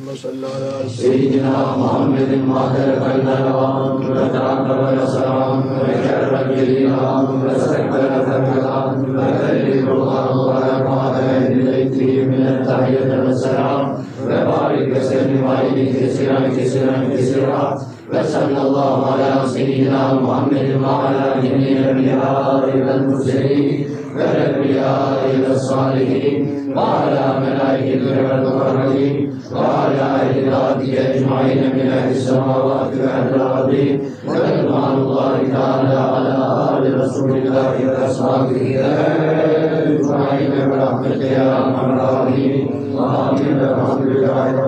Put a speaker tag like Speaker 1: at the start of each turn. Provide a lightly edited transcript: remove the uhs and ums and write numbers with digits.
Speaker 1: صل على
Speaker 2: سيدنا محمد ماهر النوام وتعقب السلام وكرم الإمام واستقبل الكلام وكلم الله ورحمة إليه من التحية والسلام وبارك وسلم عليه كثيرا كثيرا كثيرا وصلى الله على سيدنا محمد وعلى جميع الأنبياء والمرسلين والأنبياء والصالحين وعلى ملائكة والمقربين وعلى عباده أجمعين من أهل السماوات وأهل الأرض ورضوان الله تعالى على آل رسول الله وأصحابه أجمعين برحمتك يا أرحم الراحمين آمين الحمد لله